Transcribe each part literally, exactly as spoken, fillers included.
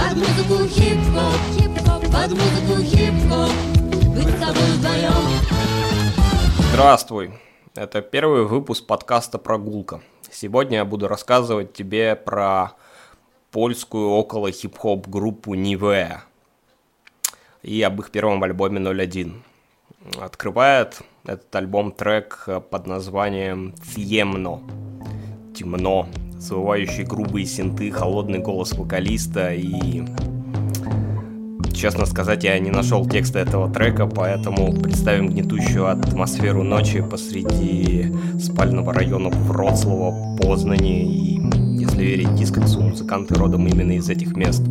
Под музыку хип-хоп, хип-хоп, под музыку хип-хоп, быть с тобой вдвоем. Здравствуй, это первый выпуск подкаста «Прогулка». Сегодня я буду рассказывать тебе про польскую около хип-хоп группу Nivea и об их первом альбоме ноль один. Открывает этот альбом трек под названием «Ciemno» – «Темно», завывающий грубые синты, холодный голос вокалиста. И, честно сказать, я не нашел текста этого трека, поэтому представим гнетущую атмосферу ночи посреди спального района Вроцлава, Познани и, если верить дискоксу, музыканты родом именно из этих мест.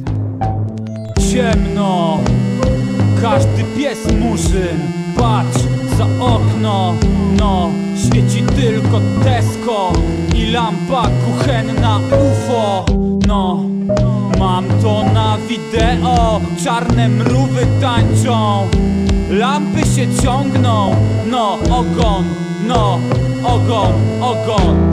Ciemno, każdy pies murzyn, patrz za okno, no, świeci tylko Tesco i lampa kuchenna U F O, no, mam to na wideo, czarne mrówy tańczą, lampy się ciągną, no, ogon, no, ogon, ogon.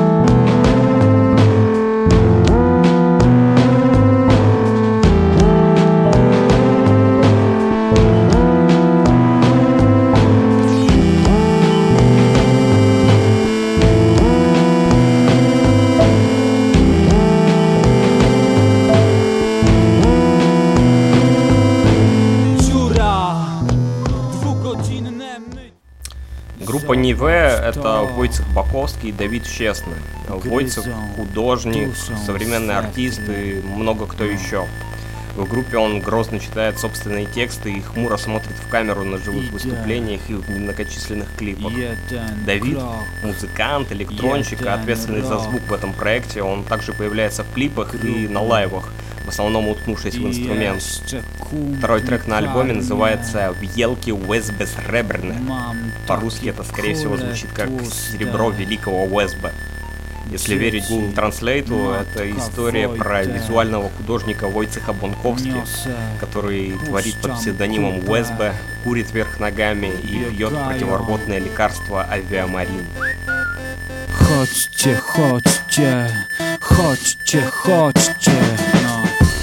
Группа Nivea — это Войцех Баковский и Давид Честный. Войцех — художник, современный артист и много кто еще. В группе он грозно читает собственные тексты и хмуро смотрит в камеру на живых выступлениях и в многочисленных клипах. Давид — музыкант, электронщик, ответственный за звук в этом проекте. Он также появляется в клипах и на лайвах, в основном уткнувшись в инструмент. Второй трек на альбоме называется «Wielkie Wesbe Srebrne». По-русски это, скорее всего, звучит как «Серебро великого Уэсбе». Если верить Google Translate, это история про визуального художника Войцеха Бонковски, который творит под псевдонимом Уэсбе, курит вверх ногами и пьет противорвотное лекарство авиамарин. Chodźcie, chodźcie, chodźcie, chodźcie, no.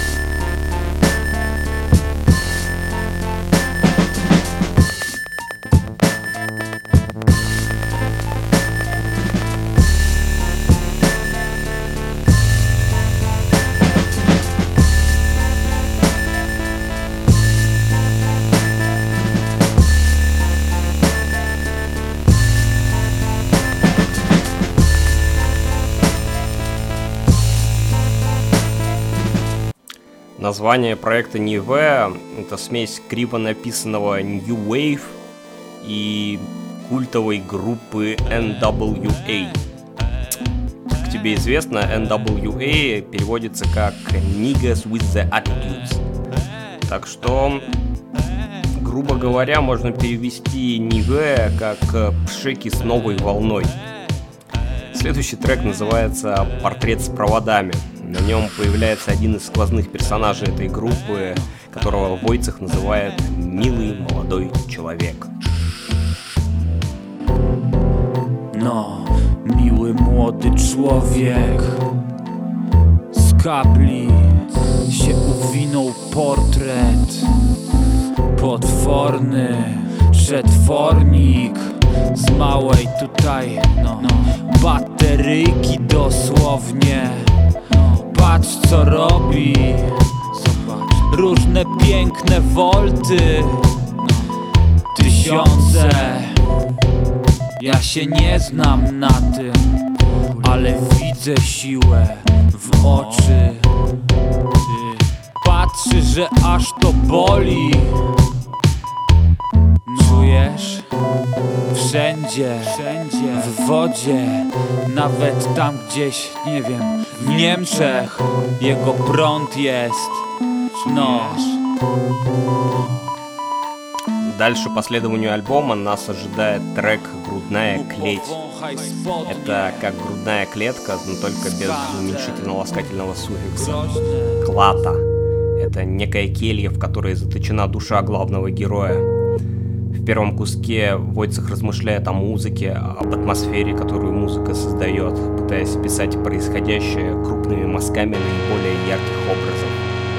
Название проекта Nivea — это смесь криво написанного New Wave и культовой группы эн дабл ю эй. Как тебе известно, эн дабл ю эй переводится как Niggas with the Attitudes. Так что, грубо говоря, можно перевести Nivea как пшеки с новой волной. Следующий трек называется «Портрет с проводами». На нем появляется один из сквозных персонажей этой группы, которого Войцех называет «милый молодой человек». No, miły młody człowiek z kabli się uwinął portret. Potworny przetwornik z małej tutaj, no, bateryjki dosłownie. Patrz co robi, zobacz, różne piękne wolty, tysiące. Ja się nie znam na tym, ale widzę siłę w oczy. Patrzy, że aż to boli. Czujesz? Wszędzie, wszędzie, w wodzie, nawet tam gdzieś, nie wiem, w Niemczech jego prąd jest, no. Дальше по следованию альбома нас ожидает трек «Грудная клеть». Это как грудная клетка, но только без уменьшительно-ласкательного суффикса. Клата. Это некая келья, в которой заточена душа главного героя. В первом куске Войцех размышляет о музыке, об атмосфере, которую музыка создает, пытаясь описать происходящее крупными мазками наиболее ярких образов.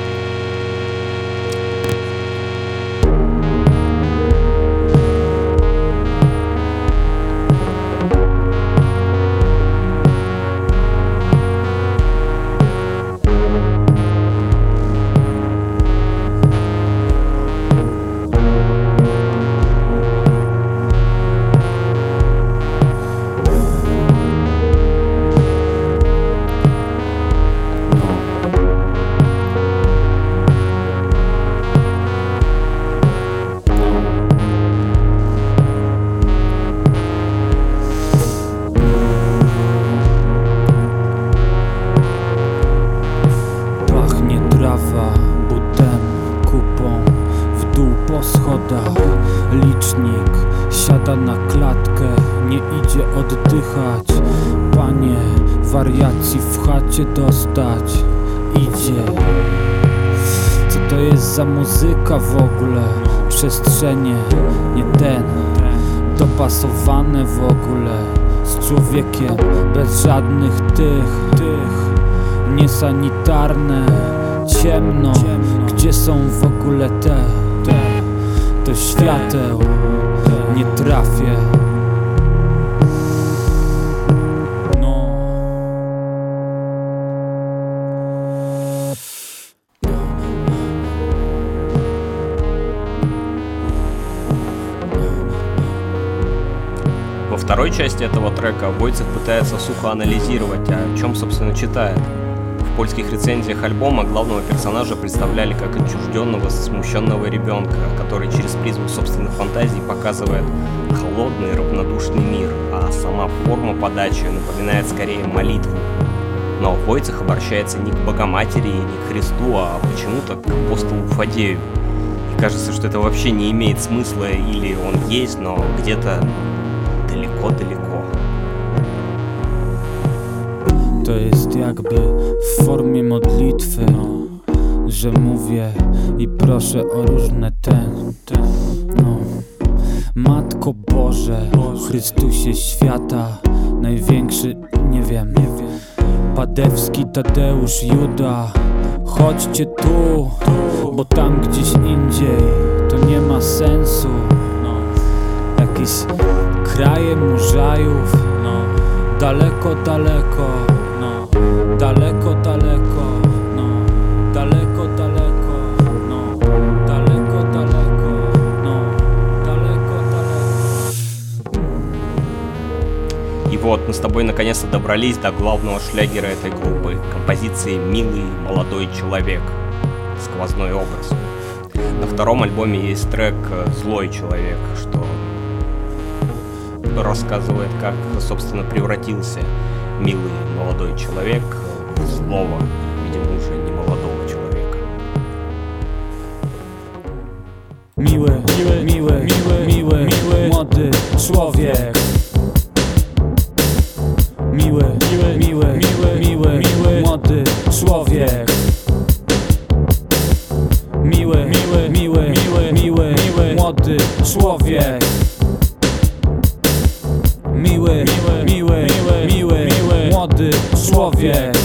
Ochota na klatkę, nie idzie oddychać. Panie, wariacji w chacie dostać idzie. Co to jest za muzyka w ogóle? Przestrzenie, nie ten, dopasowane w ogóle z człowiekiem, bez żadnych tych, tych niesanitarne, ciemno, gdzie są w ogóle te, te, do świateł nie trafię. Во второй части этого трека Войцех пытается сухо анализировать, о чем, собственно, читает. В польских рецензиях альбома главного персонажа представляли как отчужденного, смущенного ребенка, который через призму собственных фантазий показывает холодный, равнодушный мир, а сама форма подачи напоминает скорее молитву. Но Войцех обращается не к Богоматери, не к Христу, а почему-то к апостолу Фадею. И кажется, что это вообще не имеет смысла, или он есть, но где-то daleko-daleko. To jest jakby w formie modlitwy, że mówię i proszę o różne ten, ten, no. Matko Boże, Chrystusie świata, największy, nie wiem, Padewski, Tadeusz, Juda, chodźcie tu, bo tam gdzieś indziej to nie ma sensu. Jakieś kraje murzajów, no, daleko, daleko, no, daleko, daleko, no, daleko, daleko, no, daleko, daleko, no, daleko, daleko. И вот мы с тобой наконец-то добрались до главного шлягера этой группы, композиции «Милый молодой человек», сквозной образ. На втором альбоме есть трек «Злой человек», что рассказывает, как, собственно, превратился милый молодой человек в злого, видимо, уже не молодого человека. Miły, miły, miły, miły, miły, miły, młody człowiek. Miły, miły, miły, miły, miły, miły, młody człowiek. Miły, miły, miły, miły, miły, miły, młody człowiek. Miły, miły, miły, miły, miły, młody człowiek.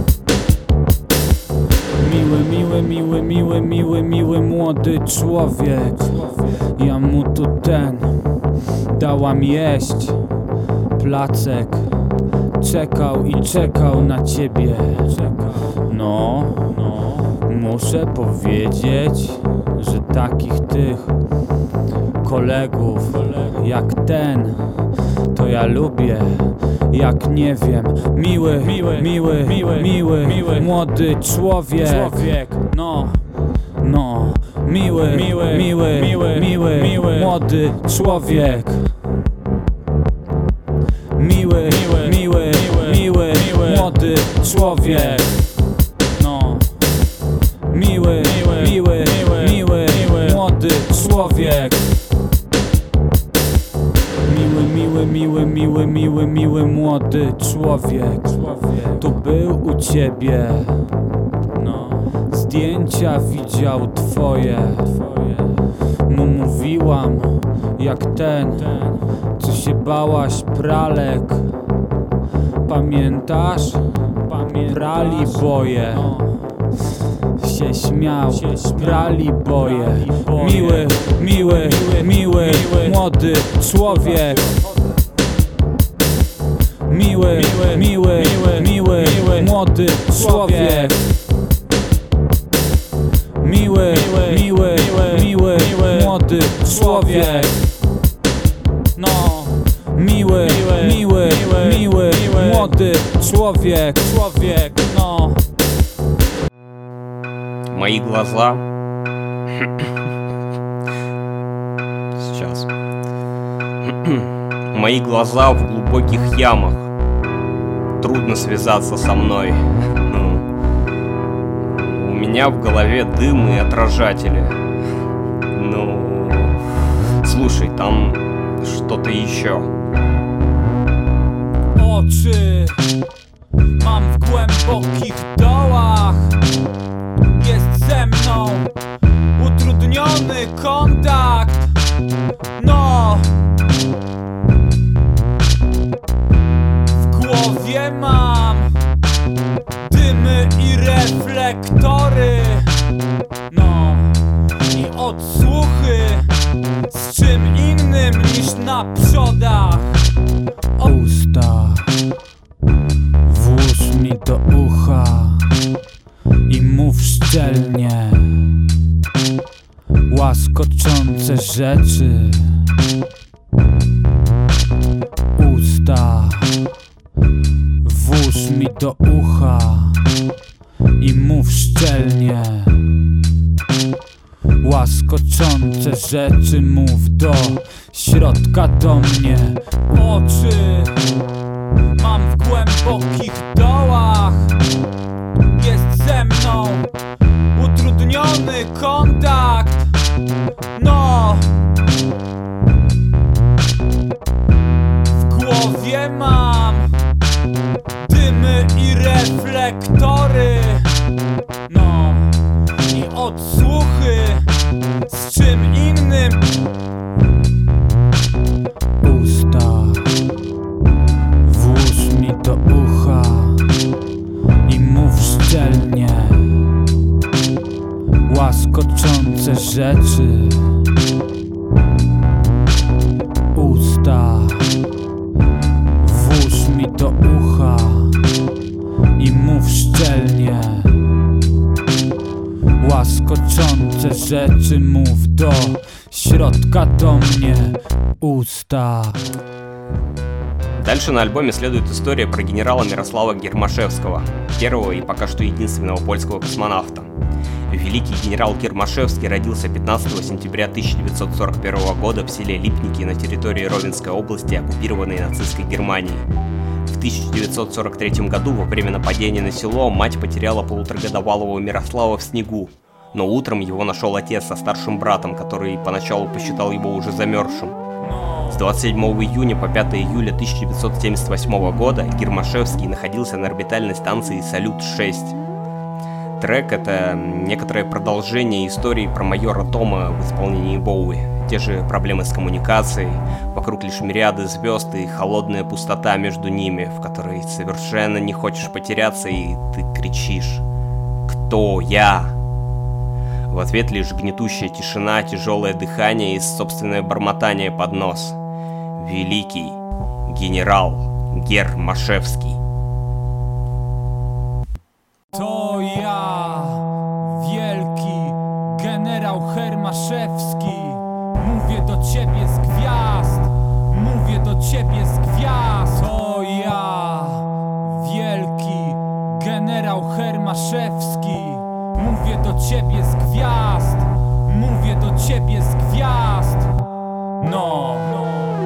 Miły, miły, miły, miły, miły, miły, młody człowiek. Ja mu tu ten dałam jeść placek. Czekał i czekał na ciebie. No, no, muszę powiedzieć, że takich tych kolegów jak ten to ja lubię, jak nie wiem. Miły, miły, miły, miły, miły, miły, młody człowiek. No, no, miły, miły, miły, miły, miły, miły, młody człowiek. Miły, miły, miły, miły, miły, młody człowiek. No, miły, miły, miły, miły, miły, młody człowiek. Miły, miły, miły, miły, miły, miły, młody człowiek. Tu był u ciebie, no, zdjęcia widział twoje. Mu mówiłam, jak ten, co się bałaś pralek. Pamiętasz? Prali boje. Się śmiał, prali boje. Miły, miły, miły, młody człowiek. Miły, miły, miły, młody człowiek. Miły, miły, miły, młody człowiek. No, miły, miły, miły, młody człowiek, człowiek, no. Мои глаза... Сейчас. Мои глаза в глубоких ямах. Трудно связаться со мной. Ну, у меня в голове дым и отражатели. Ну, слушай, там что-то еще. Oczy mam w głębokich dołach. Jest ze mną utrudniony kontakt. No, w głowie mam dymy i reflektory. No, i odsłuchy z czym innym niż na przodach. Usta włóż mi do ucha i mów szczelnie łaskoczące rzeczy. Usta włóż mi do ucha i mów szczelnie łaskoczące rzeczy. Mów do środka do mnie. Oczy mam w głębokich dołach. Jest ze mną utrudniony kontakt. No, w głowie mam dymy i reflektory. No, i odsłuchy z czym innym. Usta włóż mi do ucha i mów szczelnie łaskoczące rzeczy. Usta włóż mi do ucha i mów szczelnie łaskoczące rzeczy. Mów do środка do mnie. Уста. Дальше на альбоме следует история про генерала Мирослава Гермашевского, первого и пока что единственного польского космонавта. Великий генерал Гермашевский родился пятнадцатого сентября тысяча девятьсот сорок первого года в селе Липники на территории Ровенской области, оккупированной нацистской Германией. В тысяча девятьсот сорок третьем году во время нападения на село мать потеряла полуторагодовалого Мирослава в снегу, но утром его нашел отец со старшим братом, который поначалу посчитал его уже замерзшим. С двадцать седьмого июня по пятое июля тысяча девятьсот семьдесят восьмого года Гермашевский находился на орбитальной станции Салют шесть. Трек — это некоторое продолжение истории про майора Тома в исполнении Боуи. Те же проблемы с коммуникацией, вокруг лишь мириады звезд и холодная пустота между ними, в которой совершенно не хочешь потеряться, и ты кричишь: «Кто я?». В ответ лишь гнетущая тишина, тяжелое дыхание и собственное бормотание под нос. Великий генерал Гермашевский. To ja, wielki generał Hermaszewski. Mówię do ciebie z gwiazd, mówię do ciebie z gwiazd. To ja, wielki generał Hermaszewski. Mówię do ciebie z gwiazd, mówię do ciebie z gwiazd. No, no.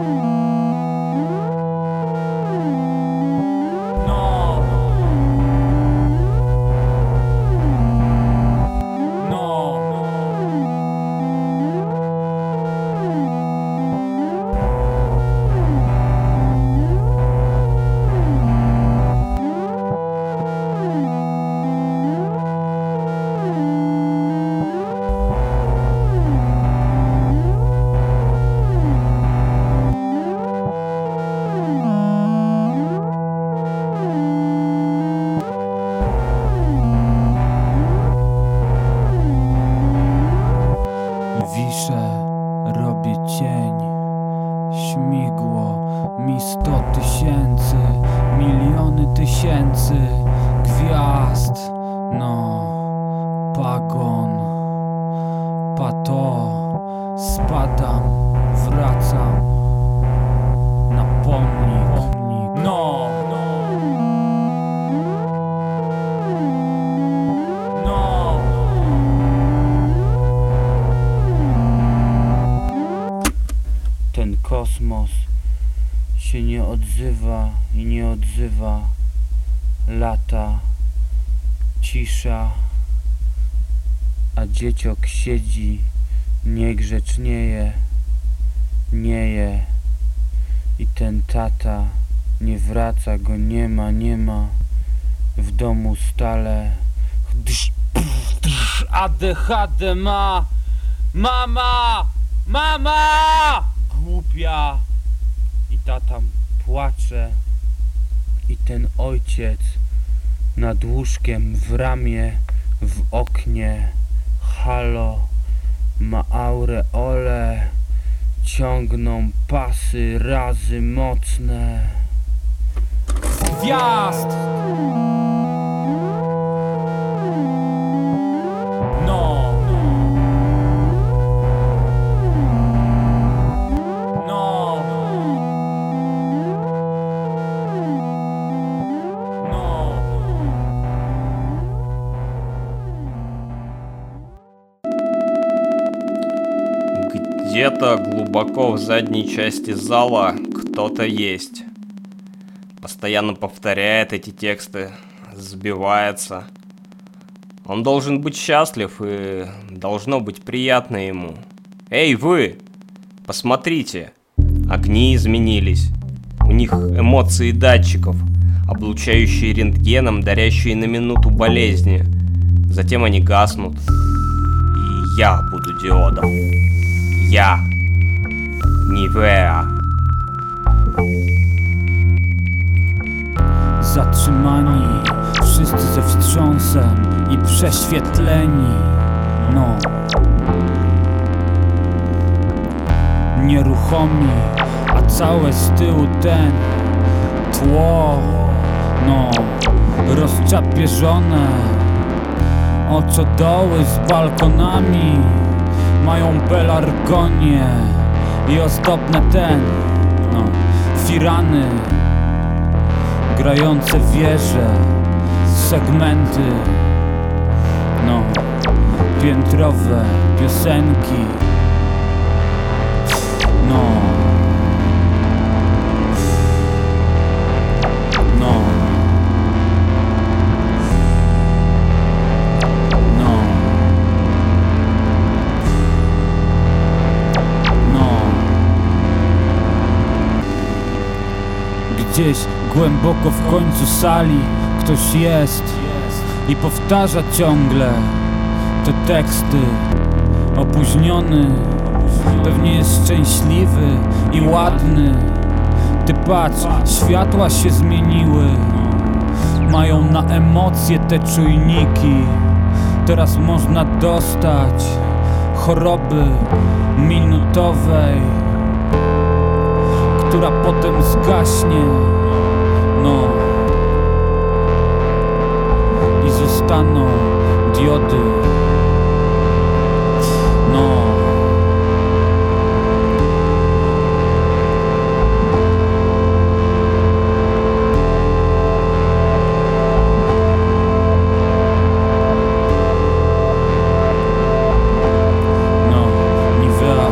Wiszę, robię cień, śmigło mi sto tysięcy, miliony tysięcy gwiazd. No, pagon, pato, spadam, wracam na pomnik. No, no. Ten kosmos się nie odzywa i nie odzywa. Lata, cisza, a dzieciok siedzi, niegrzecznieje, nieje. I ten tata nie wraca, go nie ma, nie ma. W domu stale A D H D ma. Mama! Mama! Głupia. I tata płacze. I ten ojciec nad łóżkiem, w ramię, w oknie. Halo, ma aureole. Ciągną pasy razy mocne. Gwiazd! No. No. No. Где-то глубоко в задней части зала кто-то есть. Постоянно повторяет эти тексты, сбивается. Он должен быть счастлив и должно быть приятно ему. Эй, вы! Посмотрите! Огни изменились. У них эмоции датчиков, облучающие рентгеном, дарящие на минуту болезни. Затем они гаснут. И я буду диодом. Ja, Nivea. Zatrzymani, wszyscy ze wstrząsem i prześwietleni. No. Nieruchomi, a całe z tyłu ten tło. No, rozczapieżone. Oczodoły z balkonami mają pelargonie i ozdobne ten, no, firany, grające wieże, segmenty, no, piętrowe piosenki, no, no. Gdzieś głęboko w końcu sali ktoś jest i powtarza ciągle te teksty. Opóźniony, pewnie jest szczęśliwy i ładny. Ty patrz, światła się zmieniły. Mają na emocje te czujniki. Teraz można dostać choroby minutowej, która potem zgaśnie, no, i zostaną diody, no. No, Nivea.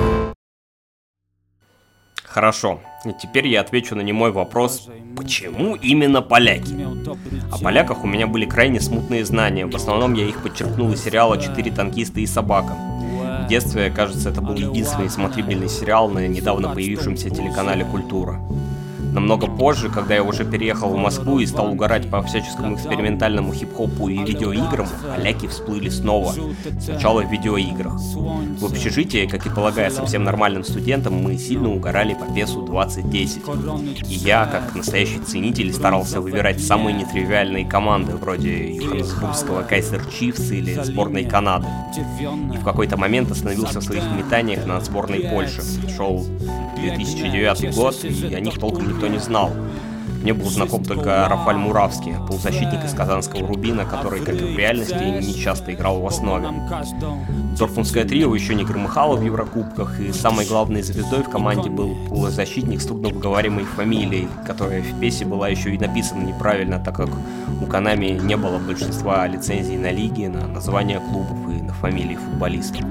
Хорошо, и теперь я отвечу на немой вопрос, почему именно поляки? О поляках у меня были крайне смутные знания, в основном я их подчеркнул из сериала «Четыре танкиста и собака». В детстве, кажется, это был единственный смотрибельный сериал на недавно появившемся телеканале «Культура». Намного позже, когда я уже переехал в Москву и стал угорать по всяческому экспериментальному хип-хопу и видеоиграм, поляки всплыли снова, сначала в видеоиграх. В общежитии, как и полагается всем нормальным студентам, мы сильно угорали по песу двадцать десять. И я, как настоящий ценитель, старался выбирать самые нетривиальные команды, вроде Йоханнесбургского Кайзер Чифс или сборной Канады. И в какой-то момент остановился в своих метаниях на сборной Польши. Шел две тысячи девятый год, и о них толком никто не знал. Мне был знаком только Рафаль Муравский, полузащитник из казанского Рубина, который, как и в реальности, не часто играл в основе. Дортмундское трио еще не громыхало в Еврокубках, и самой главной звездой в команде был полузащитник с трудновыговариваемой фамилией, которая в песе была еще и написана неправильно, так как у Konami не было большинства лицензий на лиги, на названия клубов и на фамилии футболистов.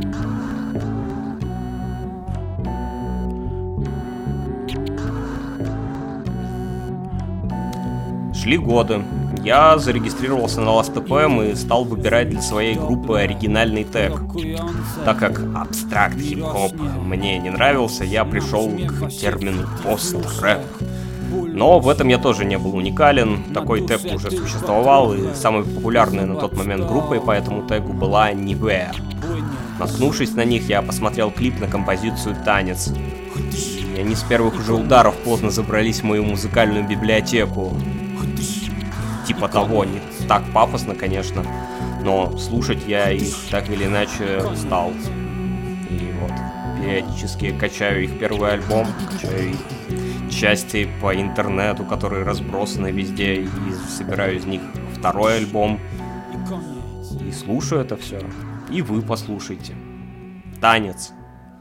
Шли годы, я зарегистрировался на Last эф эм и стал выбирать для своей группы оригинальный тег. Так как абстракт хип-хоп мне не нравился, я пришел к термину пост-рэп. Но в этом я тоже не был уникален, такой тег уже существовал, и самой популярной на тот момент группой по этому тегу была Ниве. Наткнувшись на них, я посмотрел клип на композицию «Танец». И они с первых уже ударов поздно забрались в мою музыкальную библиотеку. Типа того, не так пафосно, конечно, но слушать я их так или иначе стал. И вот, периодически качаю их первый альбом, качаю их части по интернету, которые разбросаны везде, и собираю из них второй альбом. И слушаю это все. И вы послушайте. Танец.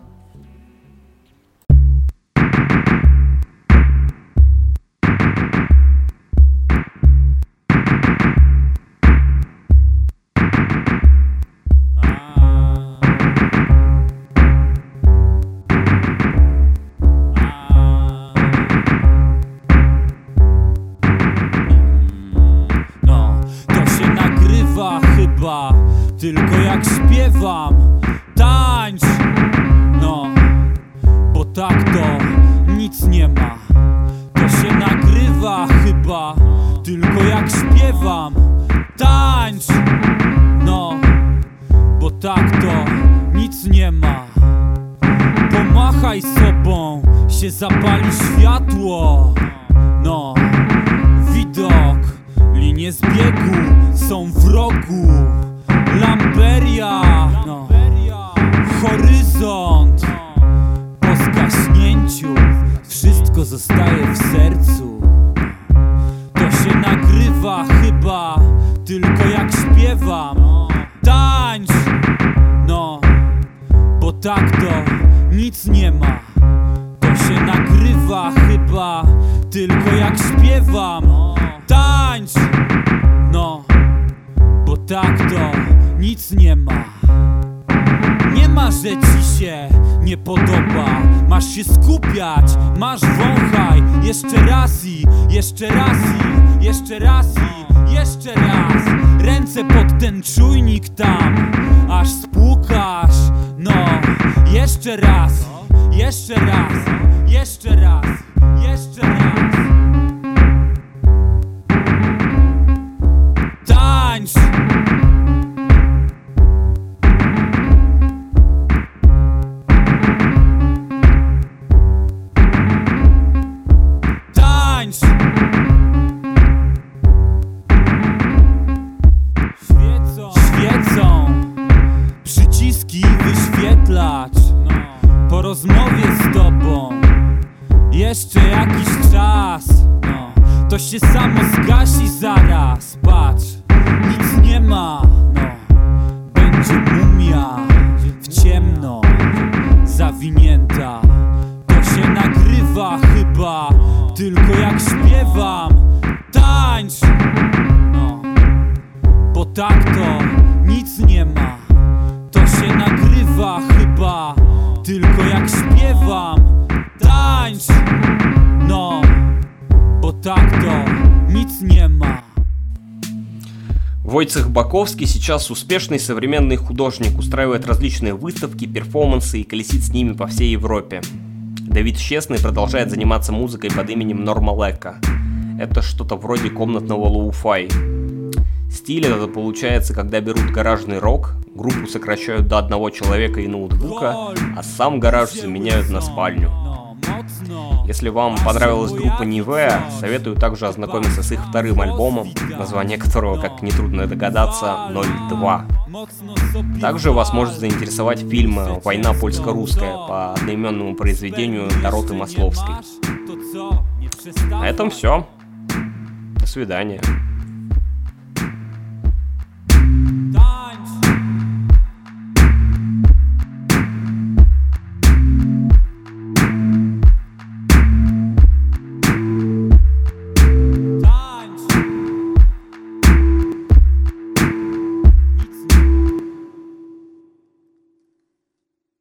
Tylko jak śpiewam, tańcz, no, bo tak to nic nie ma. To się nagrywa chyba, tylko jak śpiewam, tańcz, no, bo tak to nic nie ma. Pomachaj sobą, się zapali światło, no, widok, linie zbiegu są w rogu. Lamperia, no, horyzont. Po zgaśnięciu wszystko zostaje w sercu. To się nagrywa chyba, tylko jak śpiewam, tańcz, no, bo tak to nic nie ma. To się nagrywa chyba, tylko jak śpiewam, tańcz, no, bo tak to nic nie ma. Nie ma, że ci się nie podoba. Masz się skupiać, masz wąchaj. Jeszcze raz i, jeszcze raz i, jeszcze raz i, jeszcze raz. Ręce pod ten czujnik tam, aż spłukasz. No, jeszcze raz, jeszcze raz, jeszcze raz, jeszcze raz. Tańcz. Po rozmowie z tobą jeszcze jakiś czas, no, to się samo zgasi zaraz. Patrz, nic nie ma, no, będzie mumia w ciemno zawinięta. To się nagrywa chyba, tylko jak śpiewam, tańcz, no, bo tak to nic nie ma. To się nagrywa chyba, tylko jak śpiewam, tańcz, no, bo tak to nic nie ma. Войцех Баковский сейчас успешный современный художник, устраивает различные выставки, перформансы и колесит с ними по всей Европе. Давид Щесный продолжает заниматься музыкой под именем Нормалекка. Это что-то вроде комнатного лоу-фай. Стиль это получается, когда берут гаражный рок, группу сокращают до одного человека и ноутбука, а сам гараж заменяют на спальню. Если вам понравилась группа Ниве, советую также ознакомиться с их вторым альбомом, название которого, как нетрудно догадаться, ноль два. Также вас может заинтересовать фильм «Война польско-русская» по одноименному произведению Дороты Масловской. На этом все. До свидания.